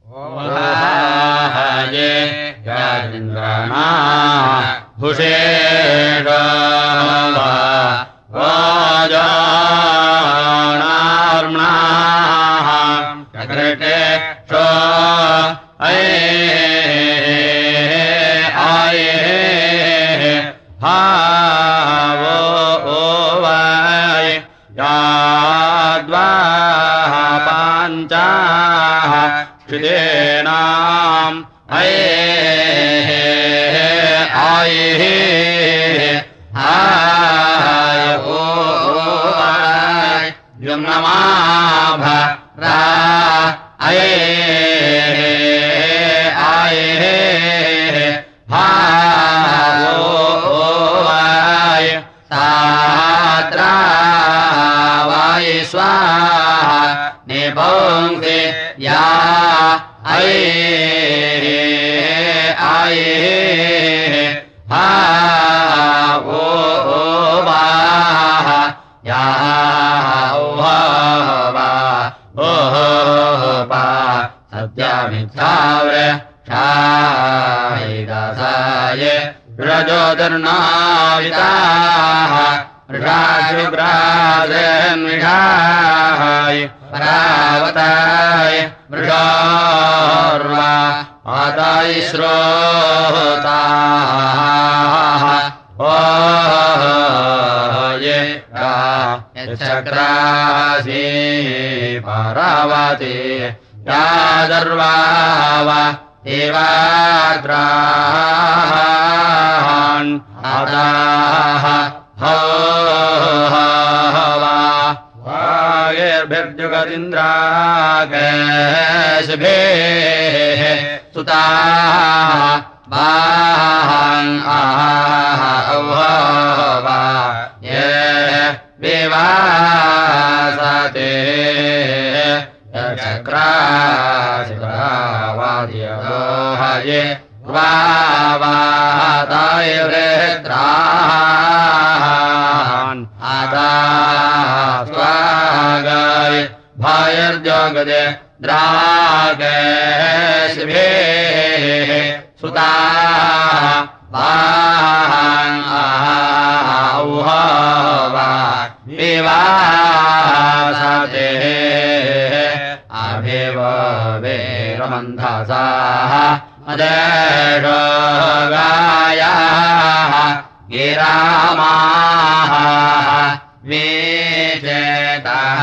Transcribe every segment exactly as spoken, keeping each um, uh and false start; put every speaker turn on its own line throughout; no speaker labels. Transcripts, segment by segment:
ओहाये यादिन्द्राणा भुषेषा वाजानार्मणाः चक्रटे show अये आये भावो ओवाय याद्वाः पाञ्चाः क्षिदेनाम् अये आये आय ओवाय यम्नमाभ रा अये आये भावो ओवाय सात्रा वाय स्वाहा निपुंसे या अये आये भावो ओवाह या ओवा ओवा सत्यामित्थाव्रे शायिदासाये रजोदर्नाविताः वृषाशुग्रासेन्विषाय परावताय वृषोर्वा माताय श्रोताः ओये यच्चक्रासि परावते यादर्वाव देवाग्रान् आदाः हो वा वागेर्भिर्जुगदिन्द्राकेशभेः सुताः बाहन् आवा ये विवासते चक्रासिवादियोहये वावाताय वृत्रान् आदा स्वागाय भायर्जगदे द्रागेशभेः सुताः बाहन् आवा विवासते अभिव वेरमन्धसाः अदेशो गायाः गिरामाः विचेताः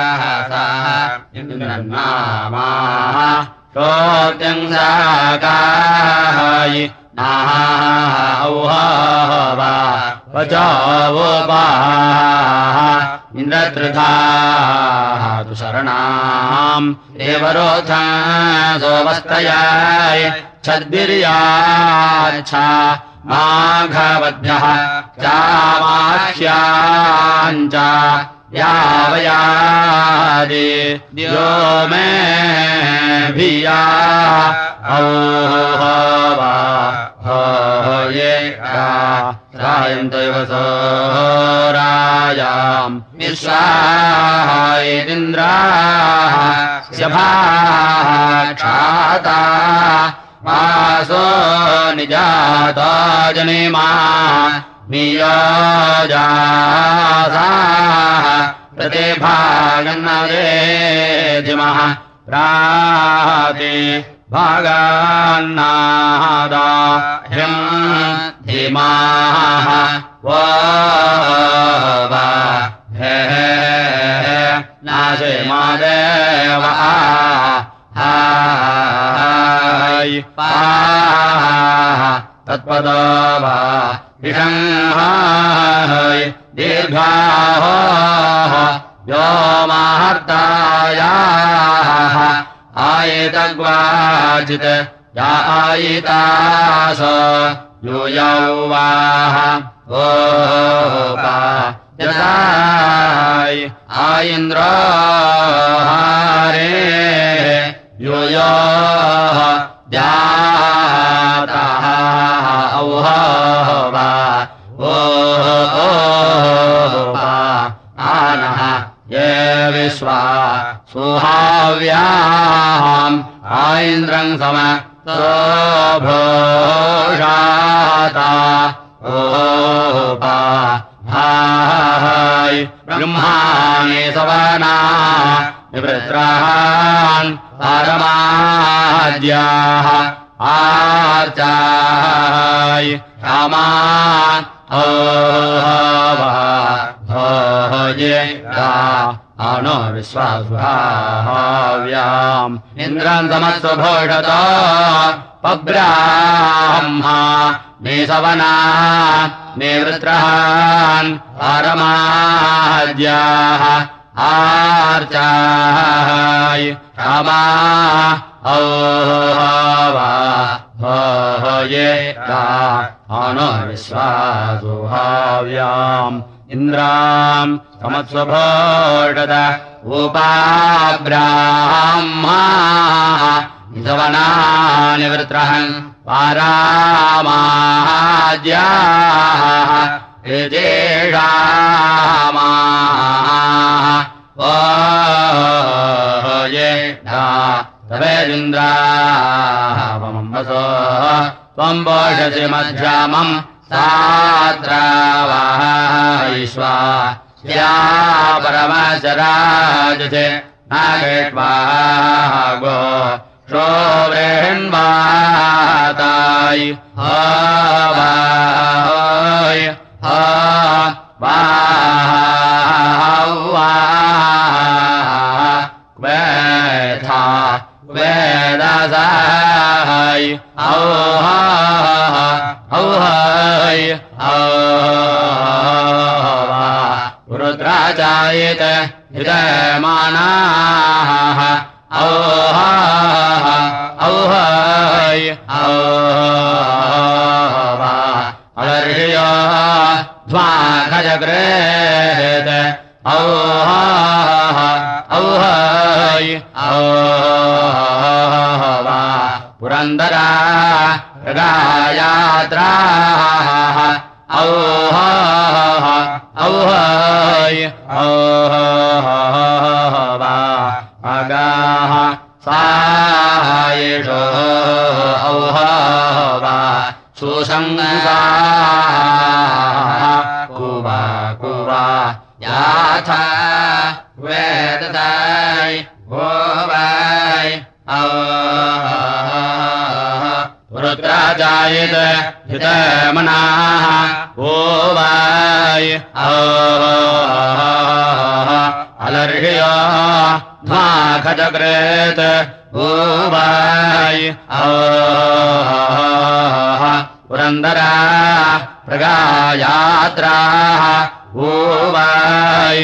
इन्द्रन्नामाः शोत्यं साकाय नाः औहवा वचोपाः इन्द्रत्रिधाः तु शरणाम् देवरोधा सोमस्तयाय छद्भिर्याच्छा माघवद्भ्यः चामाह्याञ्च यावयादि द्यो मे भिया औहवा ये रायन्तैव सोरायाम् विश्वायेन्द्राः शभाक्षाता मासो निजाता जनिमा नियोजासाः प्रतिभागन्नदेधिमः प्राति भागान्नादा ह्यम् धीमाः वोवा हे नाशे मादेव हाय पाः तत्पदो वा विषङ्हाय दीर्घाः व्योमाहर्तायाः आयेतग्वाचित् या आयितास यूयौ वाह ओपा यदाय आयेन्द्रो हारे यूयो द्याताः औहवा ओपा आनः ये विश्वा सुहाव्याम् इन्द्रम् सम सोभोषाता ओपा भाय ब्रह्माणि सवना निवृत्रान् पारमाद्याः आर्चाय रामान् ओहवाये अनो विश्वासुहाव्याम् इन्द्रम् समत्सुभोषत पब्राह्मा निसवना निवृत्रान् पारमाद्याः आर्चाय रामा ओहवाये अनो विश्वासुहाव्याम् इन्द्राम् समत्सुभोषत उपाब्राह्मा निसवना निवृत्रहन् पारामाद्याः यजेषामाः ओये तवेदिन्द्रावमम् वसो त्वम् पोषसि मध्यामम् साद्रावायिष्वा स्या परमशराजसे नागेष्वागो शोव्रेण्वाताय हवाय हवावा क्वेथा वेदसाय औहा औहाय औवा रुद्राचायत हिदयमानाः औहा औहाय औवा अलर्ह्य ध्वाखजग्रेत औहा औहाय औवा पुरन्दरा गायात्राः औहा औहाय औवा अगाः सायेषो औहवा सुसंसाः कुवा कुवा याथा वेदताय गोवाय रुद्राजायत हितमनाः गोवाय अलर्ह्य ध्वाखजग्रेत गोवाय पुरन्दरा प्रगायात्राः गोवाय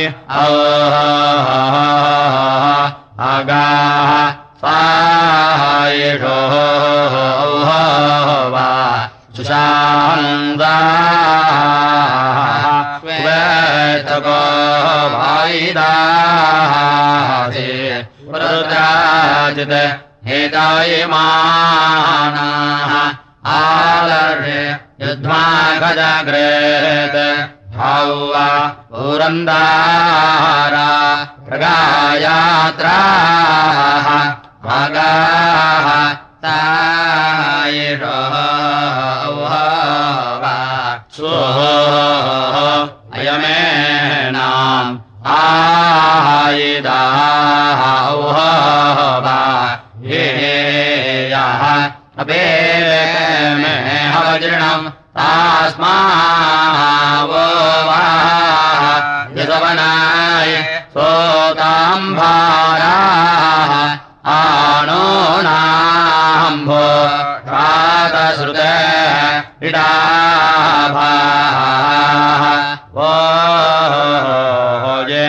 अगाः सायेषो औहवा सुशान्दाः वेतको वायिदासे रुद्राजित हेतायमानाः आलर्हे युध्वाखजग्रेत हौवा पुरन्दारा प्रगायात्राः भागाः तायेषो औहवा स्वः अयमेनाम् आयिदाः औहवा येयः अपेमे हवजृणम् तास्मावो वा यदवनाय सोताम्भाराः आनो नाम्भो शातश्रुते इडाभाः ओजे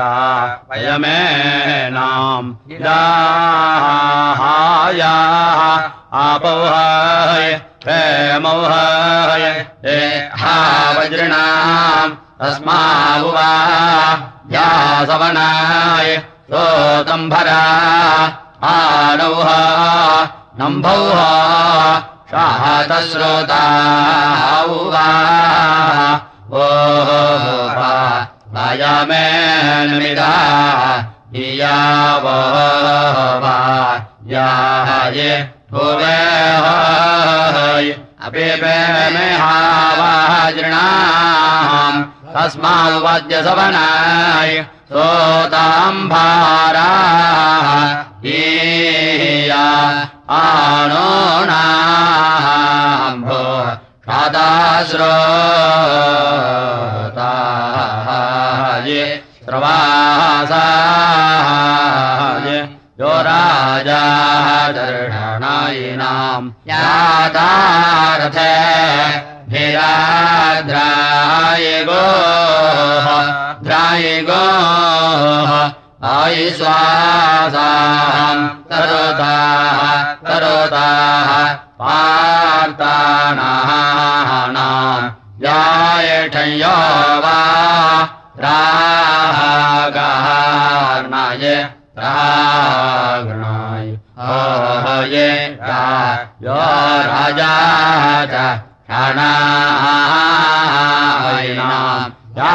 वयमेनाम् इडाहायाः आपौहाय प्रेमौहाय ये हावज्रणाम् तस्मावुवा यासवनाय सोतम्भरा आनौहा नम्भौहा शातश्रोताौवा ओहा वायामेनमिदा इयावो वा याये भुवे हय अपिबे मेहावाजृणाम् तस्माद्वज्यसवनाय सोताम्भाराः ईया आणोणाम्भो शादाश्रोताय श्रवासाय यो राजा दर्शनायिनाम् यादारथे भिराद्राय गोः द्राय गोः आयिश्वासाम् करोताः करोताः पार्तानाम् यायठयो वा रागार्णाय रागणाय अहये यो राजा च षणायिनाम्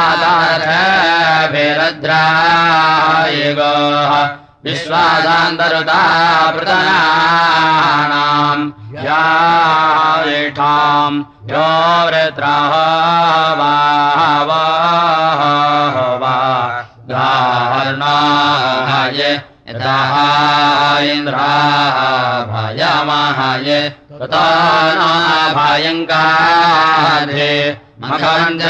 यादारथभिरद्राय गोः विश्वासान्तरुता प्रतनानाम् यायिठाम् यो वृत्रः वा वा गार्णाय यतः इन्द्राभयमहय कृतानाभयङ्काधे मखम्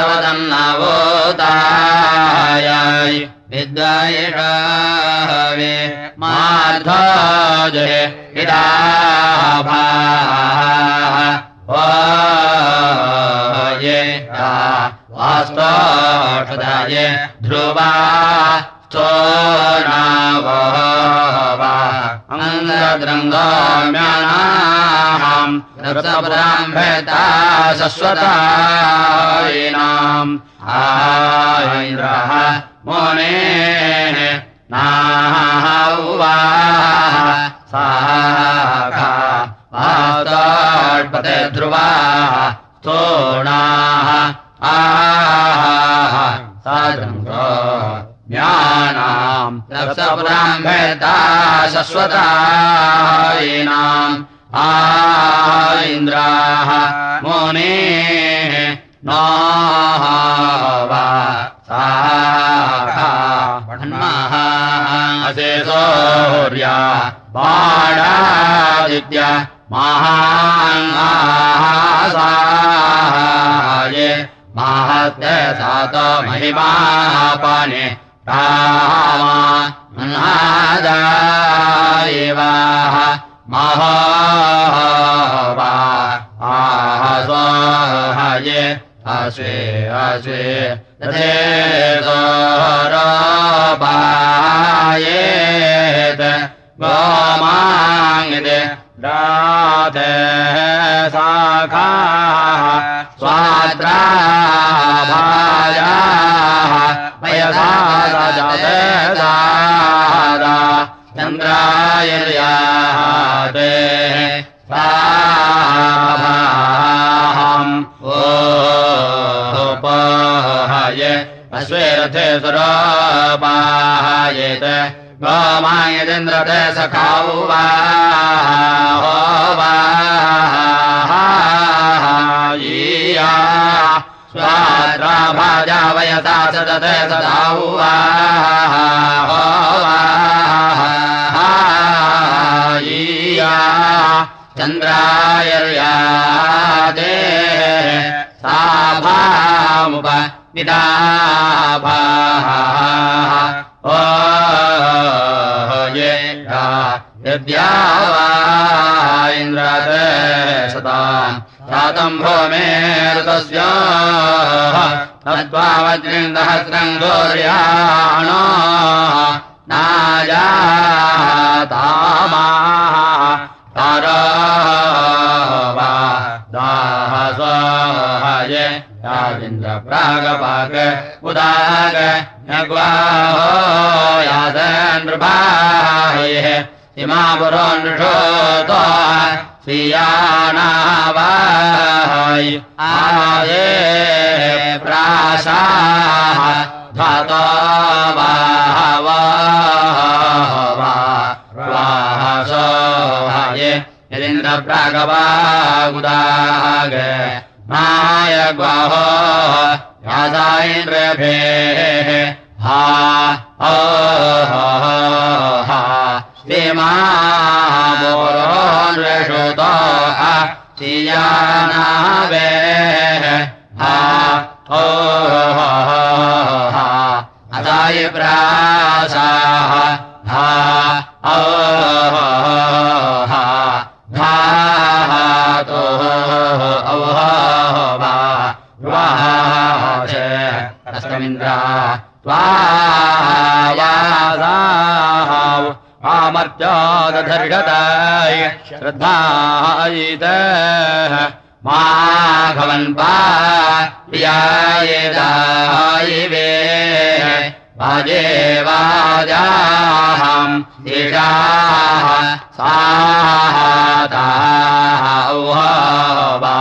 जग्धितवदन्नवोताय विद्वायिषावे मार्धजे इदाभाः वाये वास्तोषदाय ध्रुवा स्तोनावः अङ्गद्रङ्गाम्यानाम् रक्तब्राह्मेता शश्वतायिनाम् आयन्द्रः मुनेः नाहुवा साखा वाताट्पते ध्रुवा स्तोणाः आह साद्रङ्गो ज्ञानाम् रक्तब्राह्मेता शश्वतायिनाम् आइन्द्राः मुनेः नाहवा साखा वह्नः असे सूर्या बाणादित्य महासाय महत्ते सात महिमापने रामा मन्हादायिवाः महोवा आहसोहये असे असे तथे सोरोपायेत गोमाङ्गिते राते शाखाः स्वाद्राभायाः वयसा जाते दादा चन्द्रायर्याते साभाहम् ओपहये अश्वेरथे सुरोपायेत गोमायेन्द्रते सखावा होवायीया स्वाद्राभाजा वयसा सदते सदाहुवा होवायीया चन्द्रायर्यादे साभामुप विदाभाः ओ ये यद्या वा इन्द्रते सताम् सातम् भूमेर्तस्य तत्त्वा वज्रिन्दहस्रम् गौर्याणो नाजातामाः तारावा दाहसोहये यादिन्द्र प्रागपाक उदाग यग्वाहो यादनृपायः इमापुरो नृषोतो श्रियाणावाय आये प्राशाः धातो बाहवा वासो हाये यदिन्द्रप्रागवागुदाग नायग्वाहो यासाइन्द्रभेः हा ओ हा सीमा बोरोन्वेषुतो आ सियानावे हा ओ हा अदाय प्रासाः हा ओ हा धातो औहा वाचे अस्तमिन्द्रा त्वायासाः आमर्त्यादधर्षताय श्रद्धायितः माघवन्पा प्रियायेदायिवे वाजे वाजाहम् ईशाः साताः औहा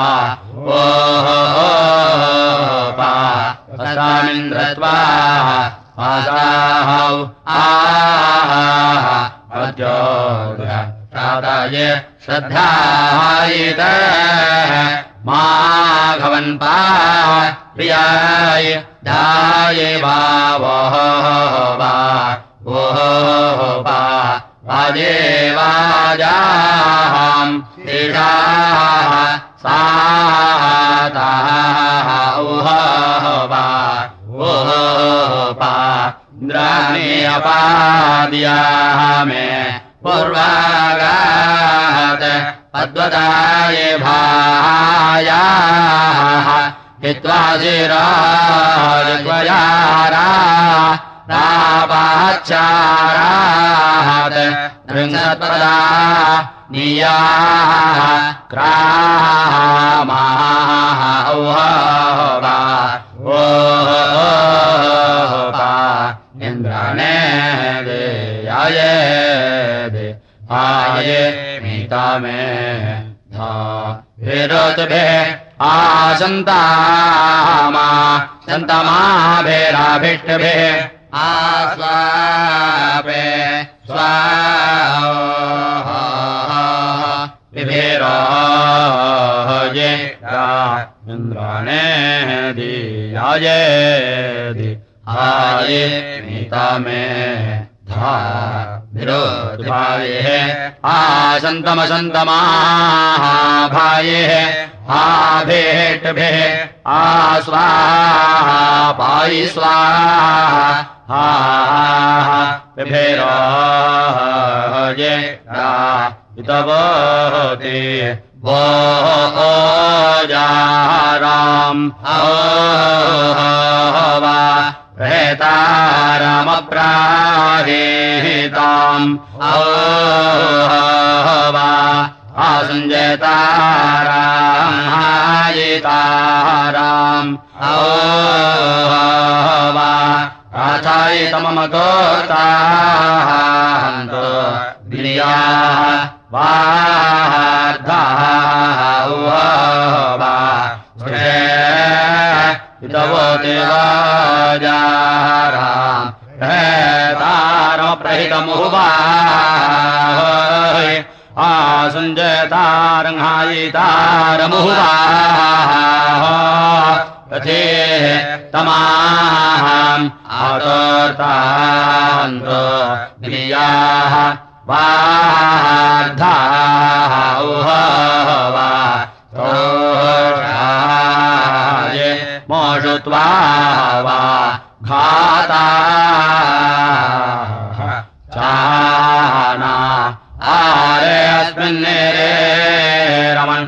ओपा अस्तामिन्द्रत्वा वासाहौ आह अद्योग्राताये श्रद्धायितः माघवन्पा प्रियाय दाये वावः वा ओह वा वाजे वाजाहम् ईशाः साताः औहा वा ओह वा इन्द्राणि अपाद्याः मे पूर्वागात् पद्वताये भायाः हित्वा शिराजग्वयारा रापाच्चारात् त्रिंशत्पदा नियाः क्रामाः औहा ओपा इन्द्राणे देयाये दे आये मीता मे धा विरोतभे आसन्तामा सन्तमा भेराभिष्टभे आस्वापे स्वाहा विभेराये इन्द्राणे दियाये दि आये मीता मे धा विरोधभाये आसन्तमसन्तमाः भाये आभेटभे आस्वाहा पायि स्वाहा विभेराये इतवोति वो जाराम् वा प्रेतारमप्राहेताम् वा आसञ्जयताराम् हायिताराम् वा आचायितममतोतान्तो गिर्याः वार्धाः वा इतवोति वाजाराम् प्रेतारमप्रहितमुवा आसञ्जयतारङ्हायितारमुवा तथे तमाहम् आतोर्तान्तो गिर्याः वार्धाः वा तोषाये मोषुत्वा वा घाता चाना आरे अस्मिन्नेरे रमन्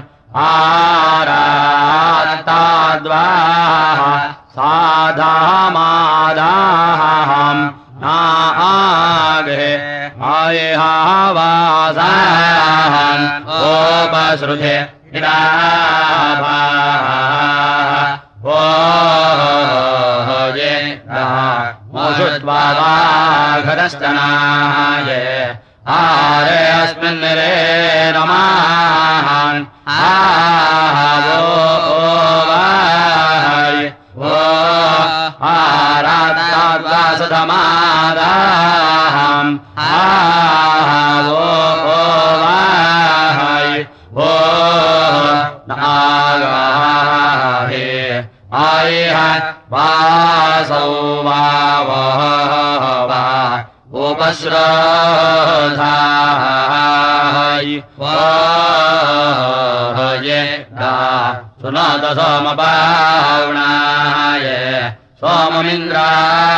आरात्ताद्वा साधामादाहम् नागे आयेहावासाहम् ओपसृजे इडाभा ओ ये मोषुत्वा वाघरस्तनाये आरे अस्मिन् रे रमान् आवो वाय वो आरात्ताद्वासधमादाहम् आवो ये दा सुनोत सोमपावणाय सोममिन्द्रा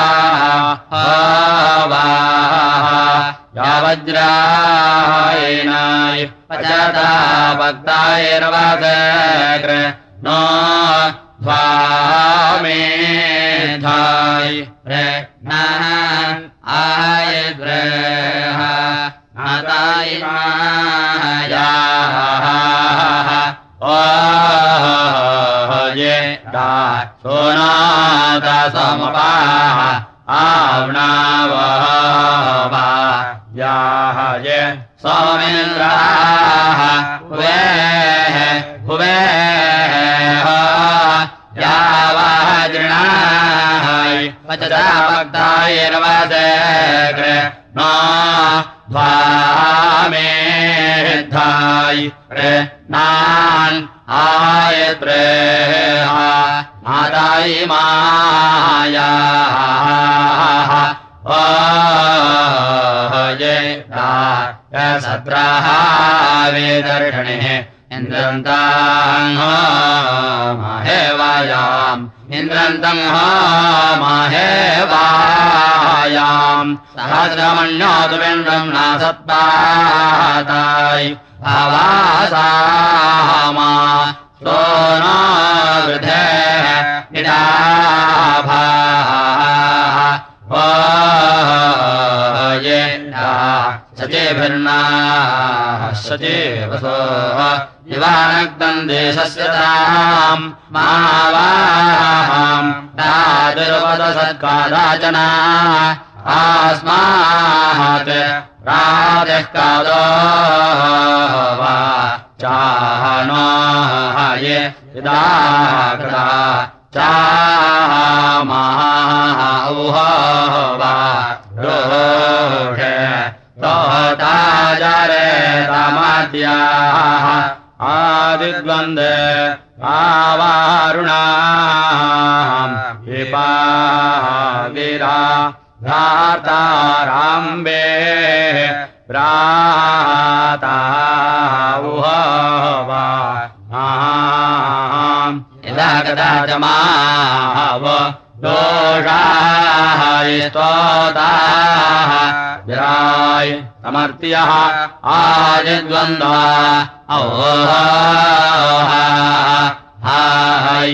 यावज्रायणाय पचता भक्तायर्वादग्र नो ध्वामेधाय नान् आयद्रेह नाताय मायाः ओ ये दा सोनाता समपाः आवनावः याः ये सोमेन्द्राः हुवेः हुवेः यावज्रणाय पचता भक्तायर्वादग्र नो ध्वामेधाय नान् आयत्रेह नाताय मायाः ओ ये सत्राः वेदर्षणिः इन्द्रन्ताम् माहेवायाम् इन्द्रन्तम् माहेवायाम् सहस्रमण्योतुविन्द्रम् नासत्पाताय भावासामा सोनो वृधे निडाभाः ओ ये सचेभिर्नाः सचेवसो दिवानग्दम् देशस्य ताम् मावाहाम् दादुर्वदसत्कादाचना आस्मात् राजः कादो वा चानो ये यदा चामाहुः वा रोषे तोताजरे तमद्याः आदिद्वन्दे आवारुणाम् विपागिरा भ्राताराम्बे भ्राताहुः वा यदा कदाचमाव दोषाय स्तोताः विराय समर्त्यः आदिद्वन्द्वा हाय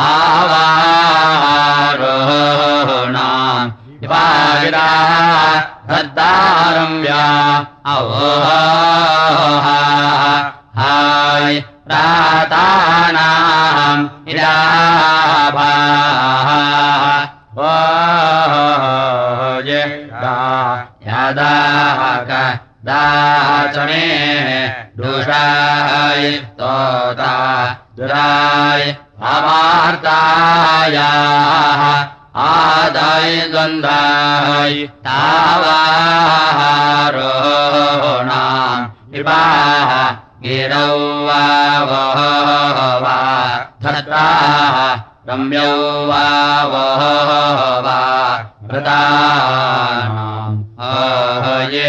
तावारोणाम् विपागिरा धद्दारम्या हाय प्रातानाम् इडाभाः ओ ये यदाक दाचने दुषाय स्तोता दुराय अमार्तायाः आदाय द्वन्द्वाय तावारोणाम् विपाः गिरौ वा वः वा धत्राः रम्यौ वा वः वा वृतानाम् ये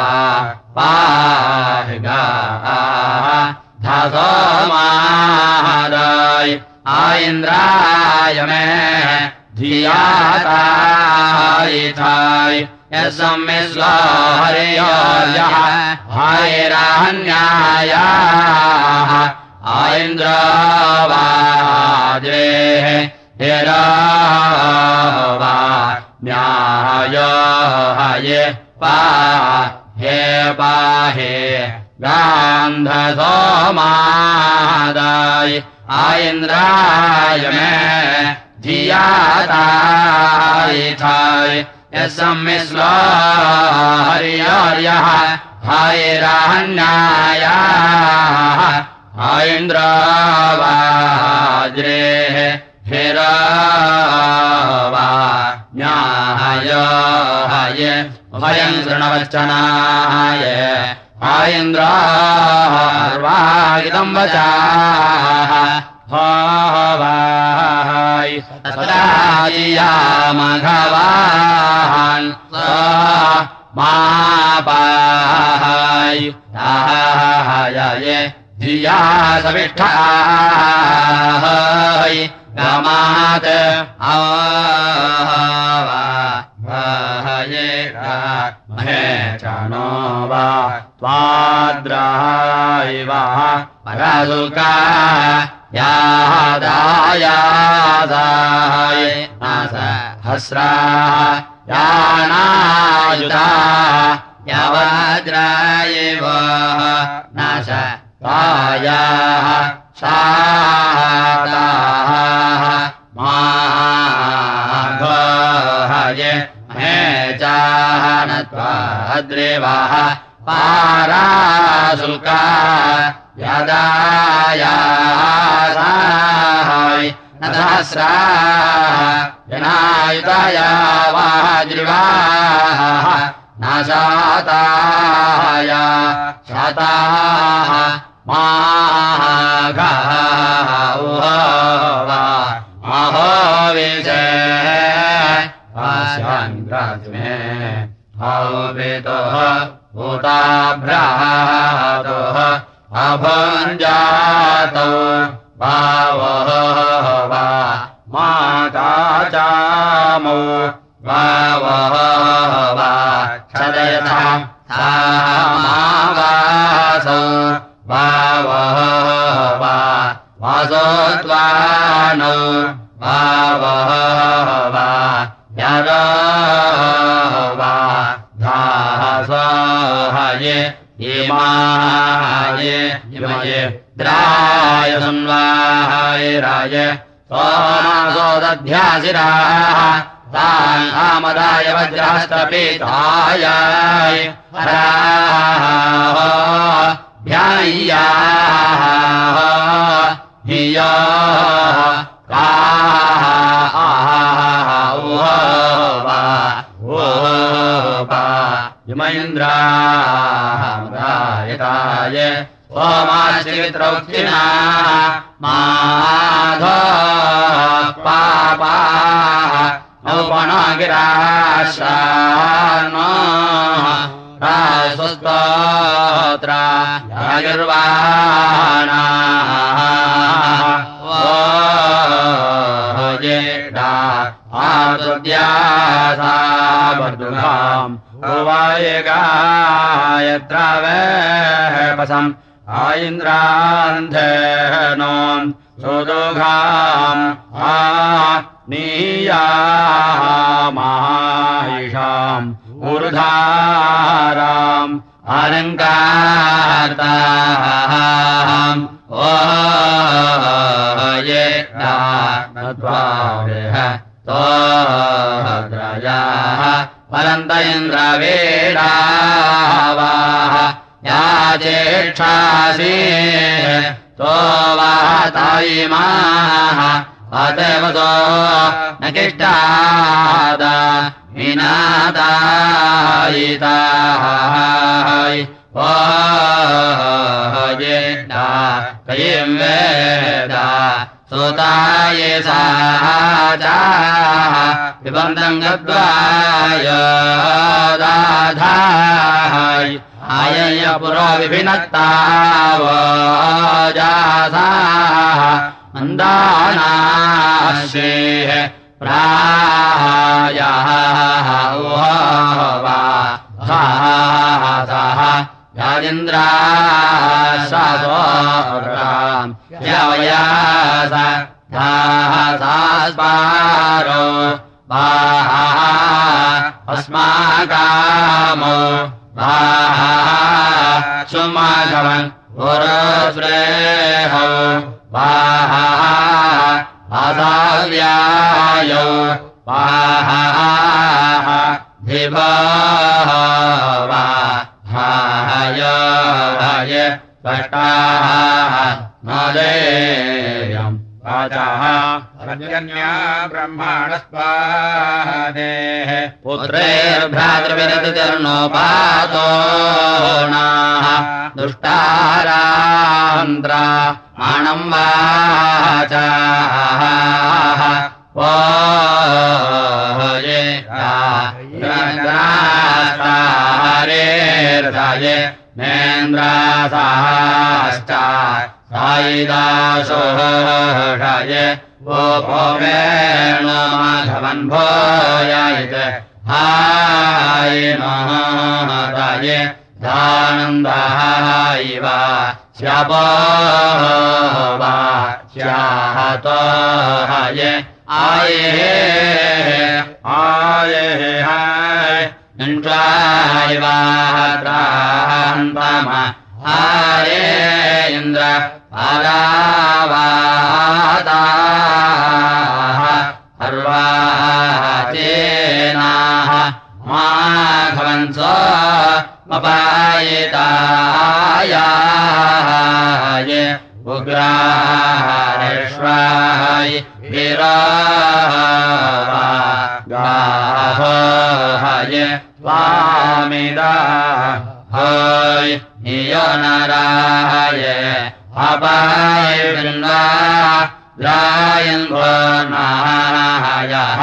पाहिगाः धासो मादाय आइन्द्राय मे धियातायिथाय यस्मिस्वा हरियोर्यः हायरान्यायाः आइन्द्रवाद्रेः हिरावा न्यायो हये पाहे पाहे गान्धसोमादाय आइन्द्राय मे धियातायिथाय यस्मिस्वा हरियोर्यः हायरान्यायाः आइन्द्रवाज्रेः हिरावा न्यायो हये भयम् शृणवच्चनाय आइन्द्रार्वागिदम् वचाः भावाय तत्राजियामघवान् मापाय ताः ये धिया सविष्ठाय गामात् आवाये महे चानो वा त्वाद्रायवा परासुका यादायादाय नास हस्रा यानायुता यावाद्रायव नास तायाः साताः माघये महे चानत्वाद्रेवाः पारासुका यदायासाय नदहस्रा जनायुताया वाज्रिवाः नाशाताय शाताः माघः महोविषे आशान्द्राज्मे हवितुः भूताभ्रातुः अभुञ्जातौ भावः वा माता चामौ भावः वा क्षदयताम् सामावासौ भावः वा वासोत्वानौ भावः वा यरो वा धासोहये इमाये इमये द्राय सुन्वाय राय सोमासो दध्यासिराः तान् आमदाय वज्रहस्तपीताय हराः ध्याय्याः हिया काः वा इमैन्द्रामदायताय ओमाश्चित्रौक्षिणा माधो पापाः औपणगिराशानो राजस्वस्तोत्रा यागिर्वाणाः ओजेडा आतुद्यासा वर्धुघाम् उवायगायत्रावेपसम् आइन्द्रान्धेनोम् सुदुघाम् आ नीयामाहिषाम् ऊर्धाराम् अलङ्कारताम् ओ ये नत्वावेह तोद्रयाः परन्त इन्द्रवेडावाः या चेक्षासि तो वातायिमाः अतवसो न किष्टाद विनादायिताय ओ येडा कयिं वेदा सुताये साचाः पिबन्तं गद्वाय दाधाय आयय पुरो विभिन्नत्तावजासाः मन्दानाश्रेः प्रायाः वा साः यादिन्द्राशासोराम् यवयास धासास्पारो वाः अस्माकामो वाः सुमाघवन् पुरश्रेहौ वाः आसाव्यायौ वाः धिवः वा हाय हाय कष्टाः नदेयम् वाचाः रजन्या ब्रह्माणस्पादेः पुत्रैर्भ्रातृविरतिर्नोपातोणाः दुष्टारान्त्रा माणम् वाचाः ओ ये रे नेन्द्रासाश्च सायिदाशोषये वो भोमेणो माघवन्भोयायित् हायिनोहराये धानन्दायिव स्यापो वा स्याहतोहये आये आये हाय इन्द्रायिवात्रान्तम आये इन्द्र आरावाताः अर्वाचेनाः माघवन्स मपायिताय उग्रारेश्वाय विरागाहय स्वामिदा हय इयनराय अपाय वृन्दा द्रायन्ध्वनायः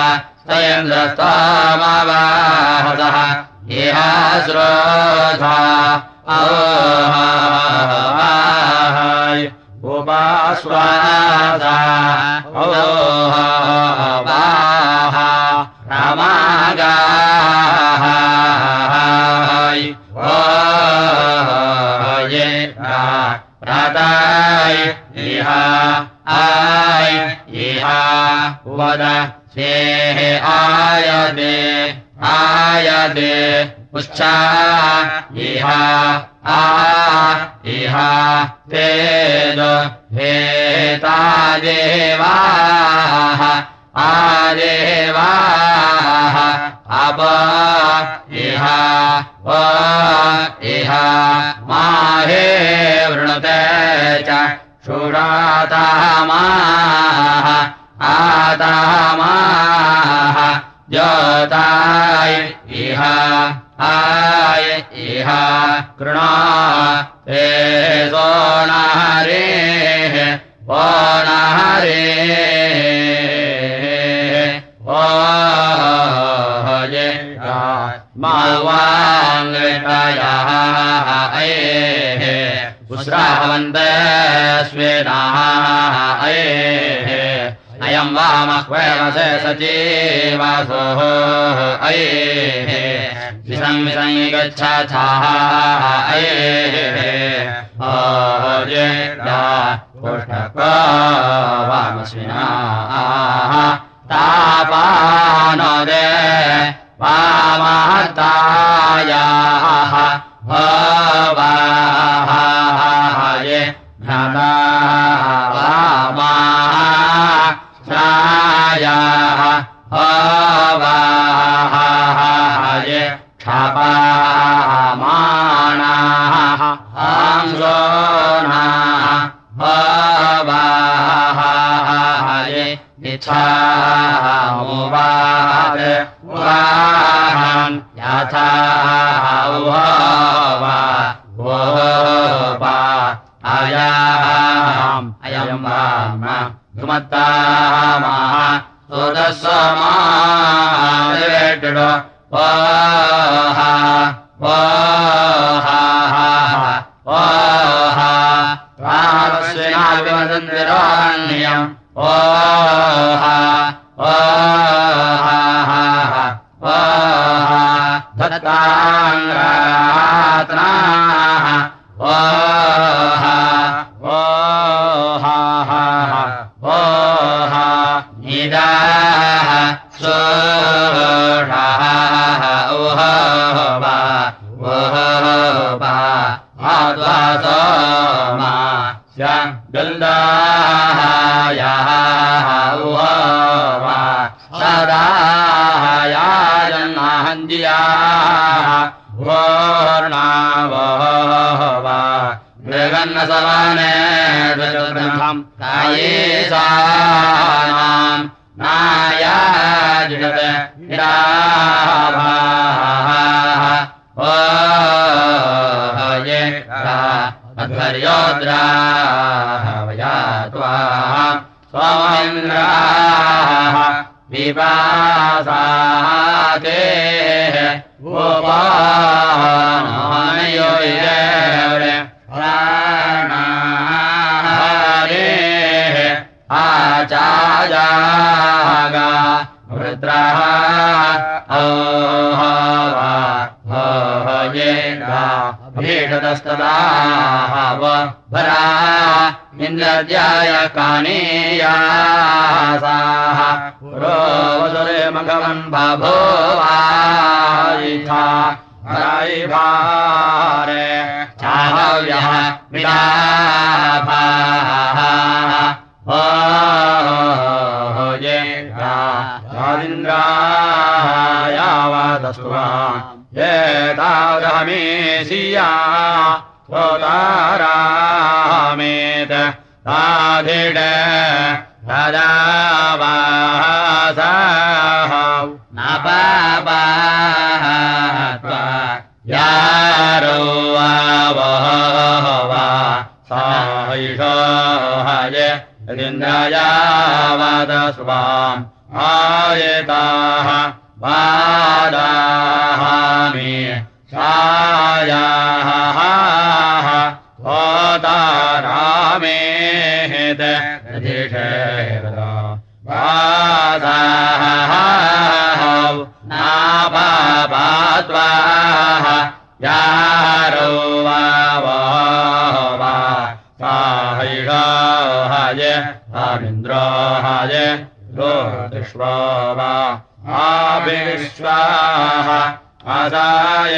सयन्द्रस्तमवाहसः इह श्रोधा ओहाय उपास्वादा ओहावाह रामागाय ओये राताय इह आय इह वद सेह आयदे आयदे उच्छा इह आ इह तेज हेता देवाः आदेवाः अप इह व इह माहे वृणुते च शूरातामाः आतामाः ज्योताय इह आय इह कृणा ते सोनाहरेः ओनाहरेः ओये मावाङ्गतयः अयेः पुस्रावन्ते स्वेनाः अयेः अयं वामह्वैवसे सजीवासोः अयेः विसं विसं गच्छाथाः अयेः ओये पुष्टको वामस्विनाः तापानो दे वामहतायाः भवाहाये भ्राता वामाः श्रायाः भवाहाये क्षपामाणाः आंसोनाः भवाहाये इच्छामुवाद उवाहन् यथा उवा वोपा अयाम् अयम् वाम धुमत्तामः सुदस्समादिवेट्टुड वोहा वोहा वोहा रामस्विनाभिमदन्दिराण्यम् ओहा ओहा ओहा धत्ताङ्गात्नाः ओहा ओहा ओहा निदाः सोषाः ओहोबा ओहोबा आद्वासोमा गन्धायाः उवा सदायाजन्नाहन्दियाः वोर्णावोवा मृगन्नसवने द्वजोद्रमम् कायेशानाम् नायाजिषत् निराभाः ओये अध्वर्योद्राः वया त्वा सोमेन्द्राः विपासाते उपानयो ये प्राणारे आचाजागा वृत्रः ओहवा ओहयेगा भीषतस्तदाहव भरा इन्द्रज्याय कानीयासाः पुरोवसुरे मघवन् बभूवायिथा हरायिभारे चाहव्यः विलाभाः ओहयेगा यादिन्द्रायावतस्वा एतावदहमेसिया स्वतारामेत ताधिड राजावासाः नपापात्वा यारो आवहवा सायिषोहय यदिन्द्रायावतस्वाम् आयताः वादाहामि सायाः त्वतारामेत यदिषेवदा वादाः नापापात्वाः यारो वावहवा साहिषाहय आमिन्द्राहय रोतिष्वावा आविश्वाः आसाय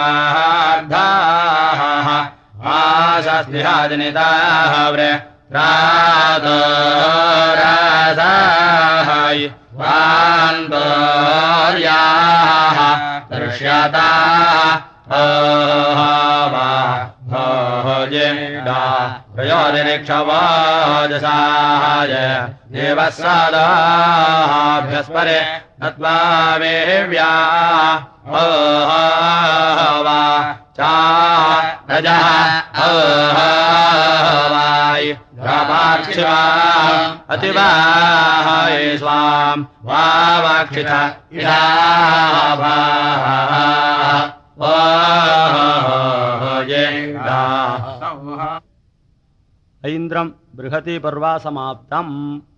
पार्धाः आशास्तिहाजनिताः व्रत्रादरासाय वान्तर्याः दृश्यताः ओहवा ओहयेगा प्रयोनिरीक्षवाजसाय देवस्सादाभ्यस्परे नत्वा वेव्या ओहवा चा रजः ओहवाय रापाक्षिवा अतिवाहाय स्वाम् वावाक्षिथ इडाभाः ओहयेगा ऐन्द्रम् बृहती पर्वा समाप्तम्।